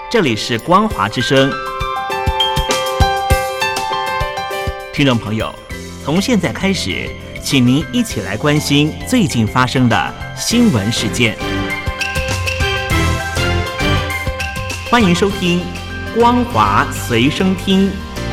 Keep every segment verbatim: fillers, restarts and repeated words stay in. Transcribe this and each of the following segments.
这里是光华之声。听众朋友，从现在开始，请您一起来关心最近发生的新闻事件。欢迎收听光华随身听。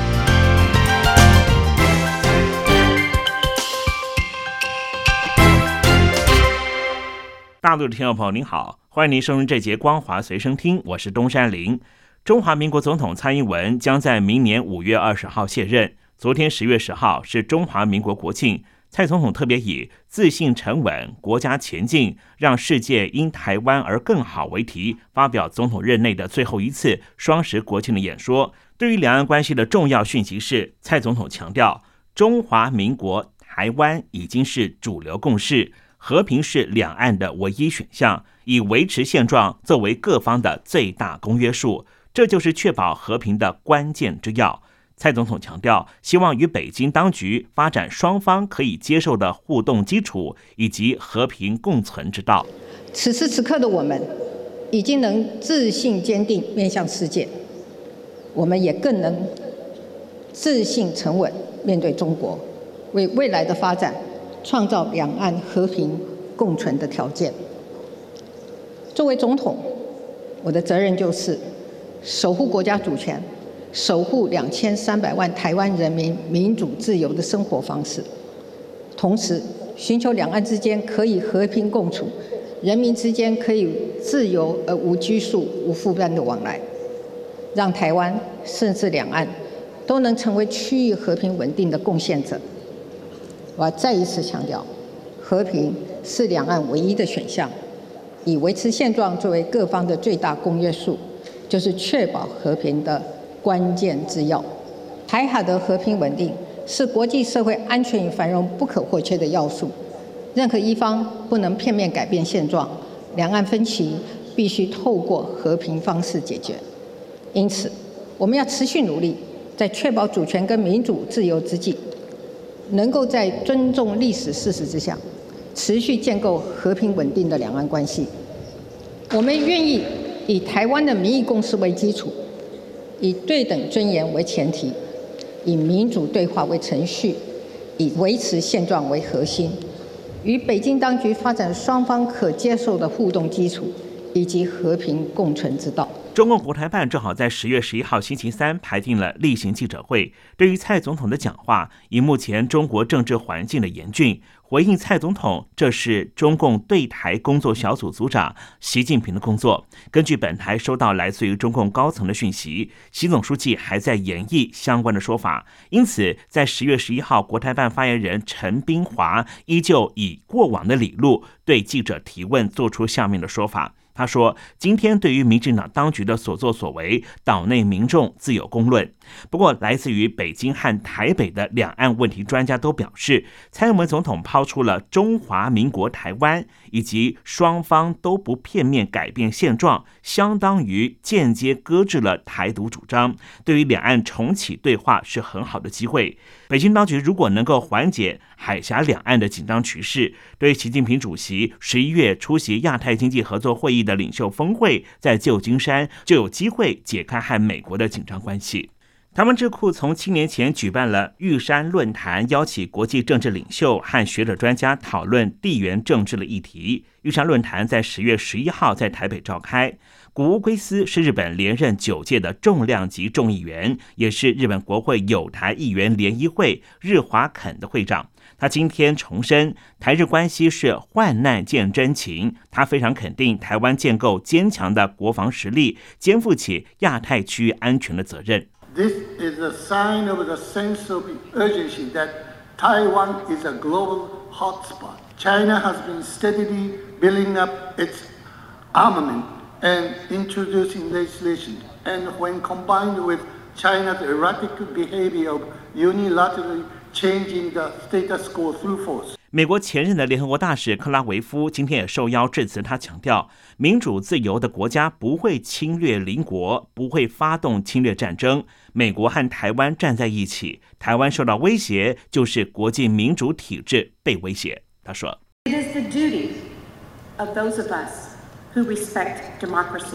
大陆的听众朋友您好，欢迎您收听这节光华随身听，我是东山林。中华民国总统蔡英文将在明年五月二十号卸任。昨天十月十号是中华民国国庆，蔡总统特别以自信沉稳，国家前进，让世界因台湾而更好为题，发表总统任内的最后一次双十国庆的演说。对于两岸关系的重要讯息是，蔡总统强调，中华民国台湾已经是主流共识，和平是两岸的唯一选项，以维持现状作为各方的最大公约数，这就是确保和平的关键之要。蔡总统强调，希望与北京当局发展双方可以接受的互动基础，以及和平共存之道。 此时此刻的我们，已经能自信坚定面向世界，我们也更能自信沉稳面对中国，为未来的发展创造两岸和平共存的条件。作为总统，我的责任就是守护国家主权，守护两千三百万台湾人民民主自由的生活方式，同时寻求两岸之间可以和平共处，人民之间可以自由而无拘束、无负担的往来，让台湾甚至两岸都能成为区域和平稳定的贡献者。我要再一次强调，和平是两岸唯一的选项，以维持现状作为各方的最大公约数，就是确保和平的关键之要。台海的和平稳定是国际社会安全与繁荣不可或缺的要素，任何一方不能片面改变现状，两岸分歧必须透过和平方式解决。因此，我们要持续努力，在确保主权跟民主自由之际，能够在尊重历史事实之下，持续建构和平稳定的两岸关系。我们愿意以台湾的民意共识为基础，以对等尊严为前提，以民主对话为程序，以维持现状为核心，与北京当局发展双方可接受的互动基础，以及和平共存之道。 中共国台办正好在十月十一号星期三排定了例行记者会，对于蔡总统的讲话，以目前中国政治环境的严峻，回应蔡总统，这是中共对台工作小组组长习近平的工作。根据本台收到来自于中共高层的讯息，习总书记还在研议相关的说法，因此在十月十一号，国台办发言人陈彬华依旧以过往的理路对记者提问，做出下面的说法。他说，今天对于民进党当局的所作所为，岛内民众自有公论。不过来自于北京和台北的两岸问题专家都表示，蔡英文总统抛出了中华民国台湾以及双方都不片面改变现状，相当于间接搁置了台独主张，对于两岸重启对话是很好的机会。北京当局如果能够缓解海峡两岸的紧张局势，对习近平主席十一月出席亚太经济合作会议的领袖峰会在旧金山，就有机会解开和美国的紧张关系。台湾智库从七年前举办了玉山论坛，邀请国际政治领袖和学者专家讨论地缘政治的议题。玉山论坛在十月十一号在台北召开。古屋圭司是日本连任九届的重量级众议员，也是日本国会友台议员联谊会日华肯的会长。他今天重申，台日关系是患难见真情。他非常肯定台湾建构坚强的国防实力，肩负起亚太区域安全的责任。 This is a sign of the sense of urgency that Taiwan is a global hotspot. China has been steadily building up its armament and introducing legislation. And when combined with China's erratic behavior of unilaterally changing the status quo through force. 美国前任的联合国大使克拉维夫今天也受邀致辞，他强调，民主自由的国家不会侵略邻国，不会发动侵略战争。美国和台湾站在一起，台湾受到威胁，就是国际民主体制被威胁。他说 It is the duty of those of us who respect democracy,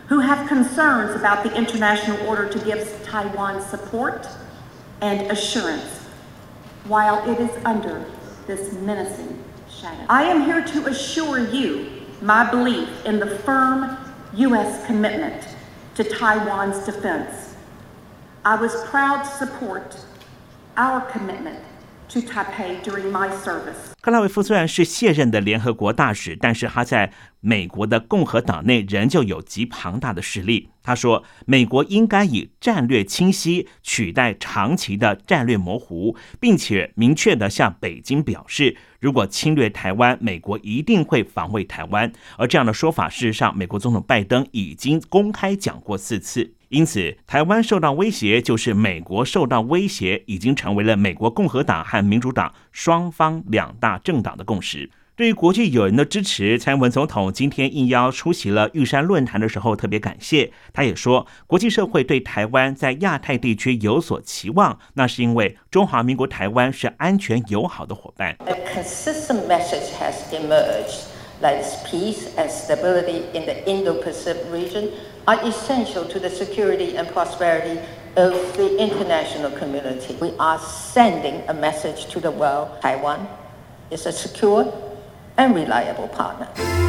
who have concerns about the international order to give Taiwan support and assurance while it is under this menacing shadow. I am here to assure you my belief in the firm U S commitment to Taiwan's defense. I was proud to support our commitment to Taipei during my service. 克拉维夫虽然是卸任的联合国大使，但是他在美国的共和党内仍旧有极庞大的势力。他说，美国应该以战略清晰取代长期的战略模糊，并且明确地向北京表示，如果侵略台湾，美国一定会防卫台湾。而这样的说法，事实上，美国总统拜登已经公开讲过四次。因此，台湾受到威胁就是美国受到威胁，已经成为了美国共和党和民主党双方两大政党的共识。对于国际友人的支持，蔡英文总统今天应邀出席了玉山论坛的时候特别感谢。他也说，国际社会对台湾在亚太地区有所期望，那是因为中华民国台湾是安全友好的伙伴。 A consistent message has emerged that peace and stability in the Indo-Pacific region are essential to the security and prosperity of the international community. We are sending a message to the world. Taiwan is a secure and reliable partner.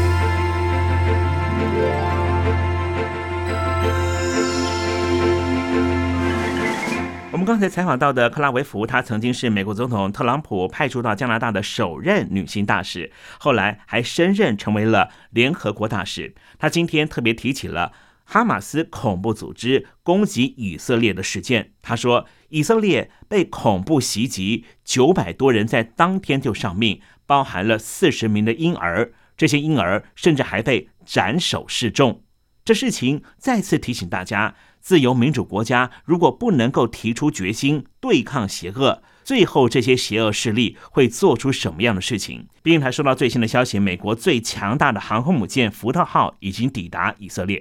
我们刚才采访到的克拉维夫，她曾经是美国总统特朗普派驻到加拿大的首任女性大使，后来还升任成为了联合国大使。她今天特别提起了哈马斯恐怖组织攻击以色列的事件。他说，以色列被恐怖袭击，九百多人在当天就丧命，包含了四十名的婴儿，这些婴儿甚至还被斩首示众。这事情再次提醒大家，自由民主国家如果不能够提出决心对抗邪恶，最后这些邪恶势力会做出什么样的事情？毕竟还收到最新的消息，美国最强大的航空母舰福特号已经抵达以色列。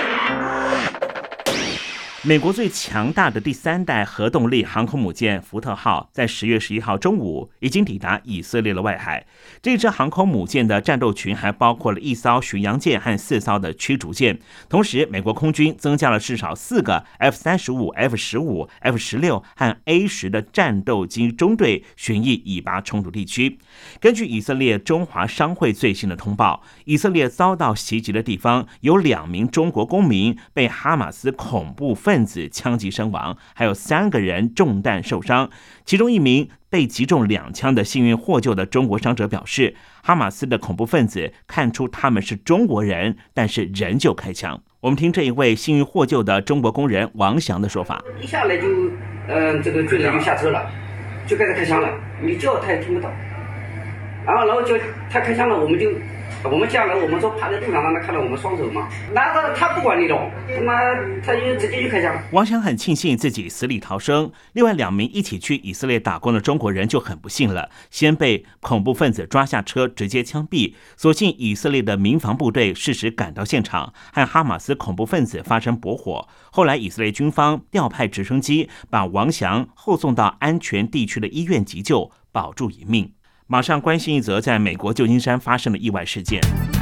美国最强大的第三代核动力航空母舰福特号在十月十一号中午已经抵达以色列的外海。这支航空母舰的战斗群还包括了一艘巡洋舰和四艘的驱逐舰，同时美国空军增加了至少四个 F 三十五、F 十五、F 十六和 A 十的战斗机中队巡弋以巴冲突地区。根据以色列中华商会最新的通报，以色列遭到袭击的地方有两名中国公民被哈马斯恐怖分子分子枪击身亡，还有三个人中弹受伤，其中一名被击中两枪的幸运获救的中国伤者表示，哈马斯的恐怖分子看出他们是中国人，但是仍旧开枪。我们听这一位幸运获救的中国工人王翔的说法： 一下来就，嗯、呃，这个军人就下车了，就开始开枪了，你叫他也听不到，然后然后就他开枪了，我们就。我们下来，我们说趴在路上让他看到我们双手嘛，那个他不管你的，他妈他就直接就开枪。 王翔很庆幸自己死里逃生，另外两名一起去以色列打工的中国人就很不幸了，先被恐怖分子抓下车直接枪毙。所幸以色列的民防部队适时赶到现场，和哈马斯恐怖分子发生搏火。后来以色列军方调派直升机把王翔后送到安全地区的医院急救，保住一命。马上关心一则在美国旧金山发生的意外事件。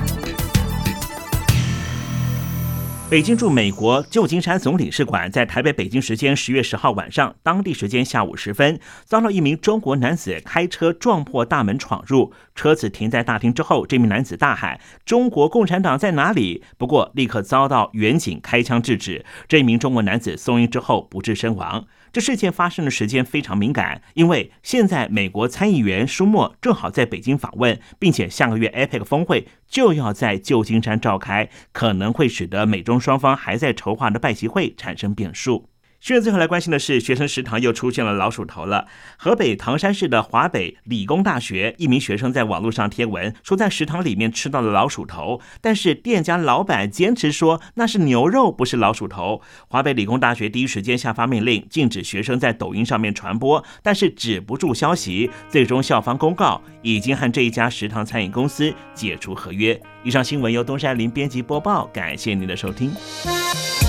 北京驻美国旧金山总领事馆在台北北京时间十月十号晚上，当地时间下午时分，遭到一名中国男子开车撞破大门闯入，车子停在大厅之后，这名男子大喊“中国共产党在哪里”，不过立刻遭到远警开枪制止。这名中国男子送医之后不治身亡。这事件发生的时间非常敏感，因为现在美国参议员舒默正好在北京访问，并且下个月 A P E C 峰会就要在旧金山召开，可能会使得美中双方还在筹划的拜习会产生变数。新闻最后来关心的是，学生食堂又出现了老鼠头了。河北唐山市的华北理工大学一名学生在网络上贴文说，在食堂里面吃到了老鼠头，但是店家老板坚持说那是牛肉，不是老鼠头。华北理工大学第一时间下发命令，禁止学生在抖音上面传播，但是止不住消息，最终校方公告已经和这一家食堂餐饮公司解除合约。以上新闻由东山林编辑播报，感谢您的收听。